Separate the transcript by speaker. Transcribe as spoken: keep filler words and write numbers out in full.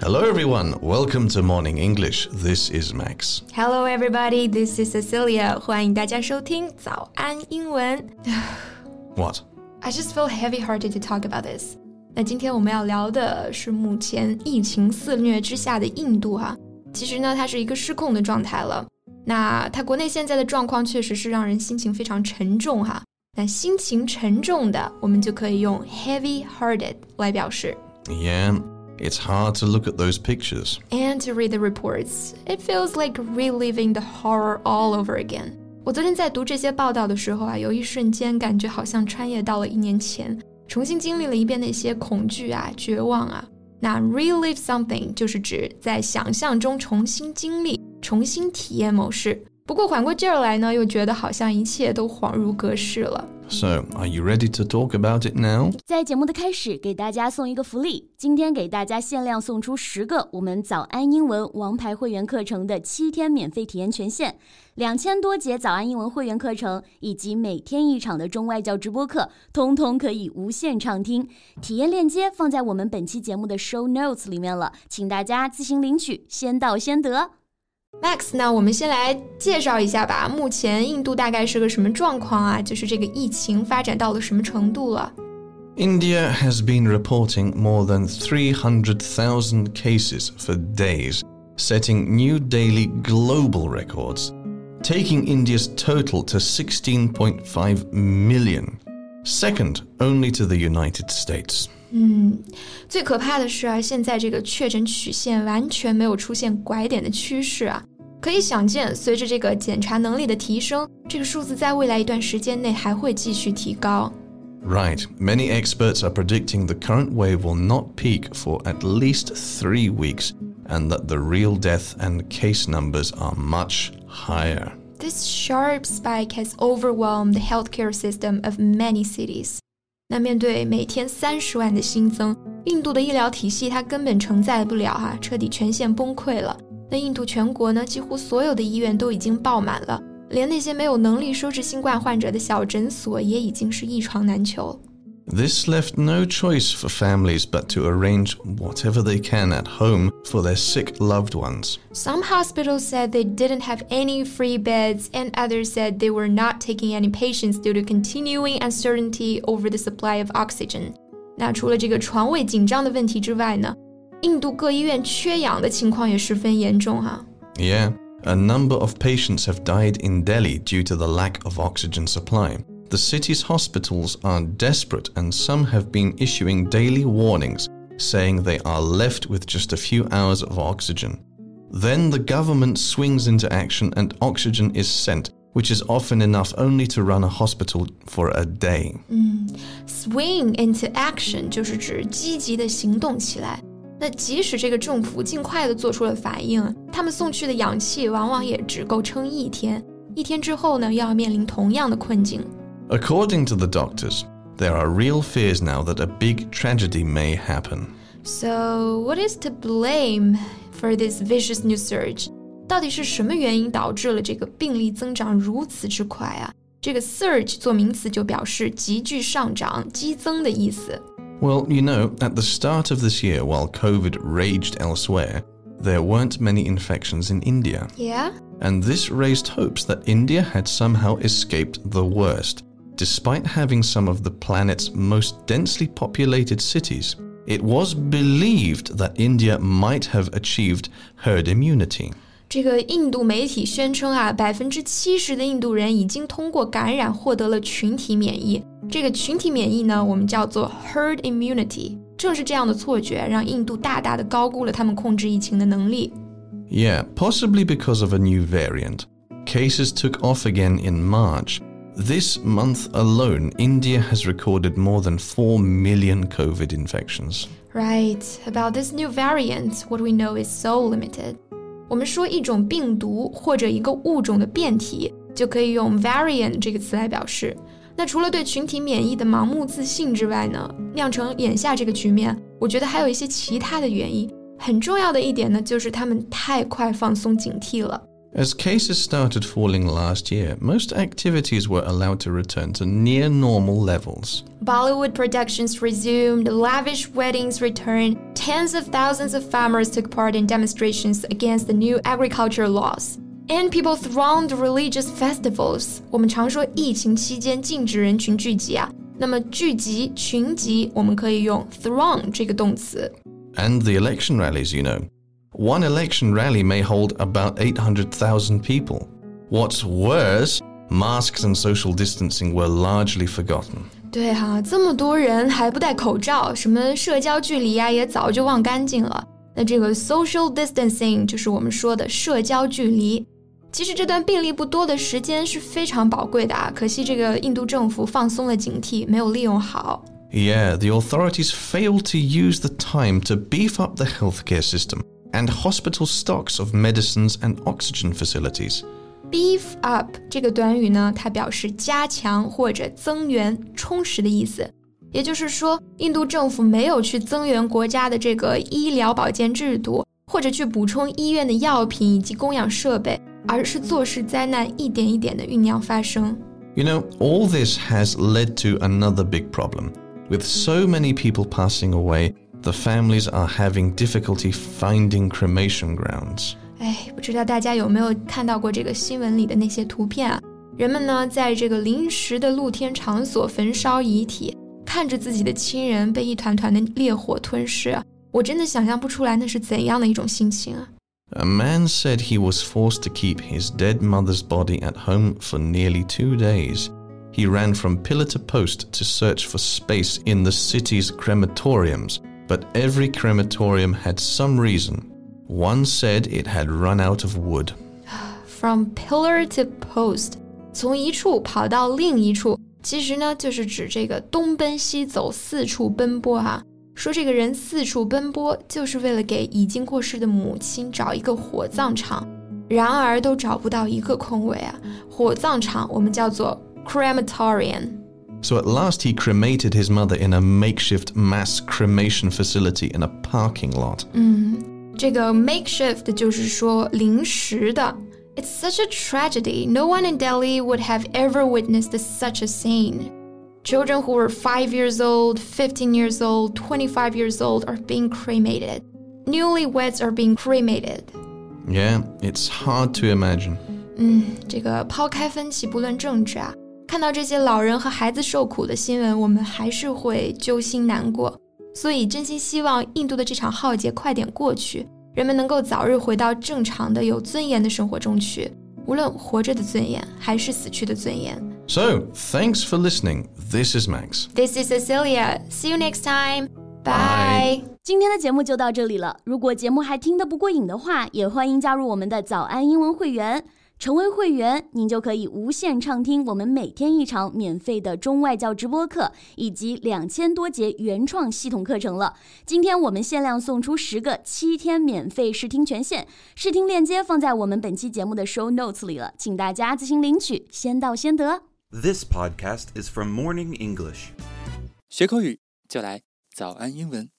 Speaker 1: Hello everyone, welcome to Morning English. This is Max.
Speaker 2: Hello everybody, this is Cecilia. 欢迎大家收听早安英文。
Speaker 1: What?
Speaker 2: I just feel heavy-hearted to talk about this. 那今天我们要聊的是目前疫情肆虐之下的印度哈。其实呢，它是一个失控的状态了。那它国内现在的状况确实是让人心情非常沉重哈。那心情沉重的，我们就可以用 heavy-hearted 来表示。
Speaker 1: Yeah.It's hard to look at those pictures.
Speaker 2: And to read the reports. It feels like reliving the horror all over again. 我昨天在读这些报道的时候啊，有一瞬间感觉好像穿越到了一年前，重新经历了一遍那些恐惧啊、绝望啊。那 relive something 就是指在想象中重新经历、重新体验某事。不过缓过劲儿来呢，又觉得好像一切都恍如隔世了。
Speaker 1: So, are you ready to talk about it now?
Speaker 3: 在节目的开始，给大家送一个福利。今天给大家限量送出十个我们早安英文王牌会员课程的七天免费体验权限，两千多节早安英文会员课程以及每天一场的中外教直播课，通通可以无限畅听。体验链接放在我们本期节目的 show notes 里面了，请大家自行领取，先到先得。
Speaker 2: Max， 那我们先来介绍一下吧，目前印度大概是个什么状况啊？就是这个疫情发展到了什么程度了？
Speaker 1: India has been reporting more than three hundred thousand cases for days, setting new daily global records, taking India's total to sixteen point five million, second only to the United States.
Speaker 2: 嗯，最可怕的是啊，现在这个确诊曲线完全没有出现拐点的趋势啊，可以想见，随着这个检查能力的提升，这个数字在未来一段时间内还会继续提高。
Speaker 1: Right, many experts are predicting the current wave will not peak for at least three weeks, and that the real death and case numbers are much higher.
Speaker 2: This sharp spike has overwhelmed the healthcare system of many cities.那面对每天三十万的新增，印度的医疗体系它根本承载不了哈，彻底全线崩溃了。那印度全国呢，几乎所有的医院都已经爆满了，连那些没有能力收治新冠患者的小诊所也已经是一床难求。
Speaker 1: This left no choice for families but to arrange whatever they can at home for their sick loved ones.
Speaker 2: Some hospitals said they didn't have any free beds, and others said they were not taking any patients due to continuing uncertainty over the supply of oxygen. 那除了这个床位紧张的问题之外呢，印度各医院缺氧的情况也十分严重哈。
Speaker 1: Yeah, a number of patients have died in Delhi due to the lack of oxygen supply.The city's hospitals are desperate, and some have been issuing daily warnings, saying they are left with just a few hours of oxygen. Then the government swings into action and oxygen is sent, which is often enough only to run a hospital for a day.
Speaker 2: 嗯 swing into action 就是指积极的行动起来。那即使这个政府尽快的做出了反应，他们送去的氧气往往也只够撑一天，一天之后呢，又要面临同样的困境。
Speaker 1: According to the doctors, there are real fears now that a big tragedy may happen.
Speaker 2: So, what is to blame for this vicious new surge? 到底是什么原因导致了这个病例增长如此之快啊？这个 surge 做名词就表示急剧上涨、激增的意思。
Speaker 1: Well, you know, at the start of this year, while COVID raged elsewhere, there weren't many infections in India.
Speaker 2: Yeah?
Speaker 1: And this raised hopes that India had somehow escaped the worst.Despite having some of the planet's most densely populated cities, it was believed that India might have achieved herd immunity.
Speaker 2: 这个印度媒体宣称啊，百分之七十的印度人已经通过感染获得了群体免疫。这个群体免疫呢，我们叫做 herd immunity。正是这样的错觉，让印度大大的高估了他们控制疫情的能力。
Speaker 1: Yeah, possibly because of a new variant. Cases took off again in March.This month alone, India has recorded more than four million COVID infections.
Speaker 2: Right. About this new variant, what we know is so limited. 我们说一种病毒或者一个物种的变体，就可以用 variant 这个词来表示。那除了对群体免疫的盲目自信之外呢，酿成眼下这个局面，我觉得还有一些其他的原因。很重要的一点呢，就是他们太快放松警惕了。
Speaker 1: As cases started falling last year, most activities were allowed to return to near normal levels.
Speaker 2: Bollywood productions resumed, lavish weddings returned, tens of thousands of farmers took part in demonstrations against the new agricultural laws. And people thronged religious festivals. 我们常说疫情期间禁止人群聚集啊，那么聚集、群集，我们可以用 throng 这个动词。
Speaker 1: And the election rallies, you know. One election rally may hold about eight hundred thousand people. What's worse, masks and social distancing were largely forgotten.
Speaker 2: 对啊，这么多人还不戴口罩，什么社交距离啊，也早就忘干净了。那这个 social distancing 就是我们说的社交距离。其实这段病例不多的时间是非常宝贵的啊，可惜这个印度政府放松了警惕，没有利用好。
Speaker 1: Yeah, the authorities failed to use the time to beef up the healthcare system and hospital stocks of medicines and oxygen facilities.
Speaker 2: Beef up 这个短语呢，它表示加强或者增援、充实的意思。也就是说，印度政府没有去增援国家的这个医疗保健制度，或者去补充医院的药品以及供氧设备，而是坐视灾难一点一点的酝酿发生。
Speaker 1: You know, all this has led to another big problem. With so many people passing away, the families are having difficulty finding cremation grounds.
Speaker 2: 哎，不知道大家有没有看到过这个新闻里的那些图片啊？人们呢，在这个临时的露天场所焚烧遗体，看着自己的亲人被一团团的烈火吞噬啊，我真的想象不出来那是怎样的一种心情啊。
Speaker 1: A man said he was forced to keep his dead mother's body at home for nearly two days. He ran from pillar to post to search for space in the city's crematoriums, but every crematorium had some reason. One said it had run out of wood.
Speaker 2: From pillar to post, 从一处跑到另一处，其实呢就是指这个东奔西走，四处奔波啊。说这个人四处奔波，就是为了给已经过世的母亲找一个火葬场，然而都找不到一个空位啊。火葬场我们叫做crematorium.
Speaker 1: So at last he cremated his mother in a makeshift mass cremation facility in a parking lot.
Speaker 2: 嗯，这个 makeshift 就是说临时的。It's such a tragedy. No one in Delhi would have ever witnessed such a scene. Children who were five years old, fifteen years old, twenty-five years old are being cremated. Newlyweds are being cremated.
Speaker 1: Yeah, it's hard to imagine.
Speaker 2: 嗯，这个抛开分歧不论政治啊，看到这些老人和孩子受苦的新闻，我们还是会揪心难过。所以真心希望印度的这场浩劫快点过去，人们能够早日回到正常的有尊严的生活中去，无论活着的尊严还是死去的尊严。
Speaker 1: So, thanks for listening. This is Max.
Speaker 2: This is Cecilia. See you next time. Bye.
Speaker 3: 今天的节目就到这里了。如果节目还听得不过瘾的话，也欢迎加入我们的早安英文会员。成为会员，您就可以无限畅听我们每天一场免费的中外教直播课，以及两千多节原创系统课程了。今天我们限量送出十个七天免费试听权限，试听链接放在我们本期节目的 show notes 里了，请大家自行领取，先到先得。
Speaker 4: This podcast is from Morning English.
Speaker 5: 学口语就来早安英文。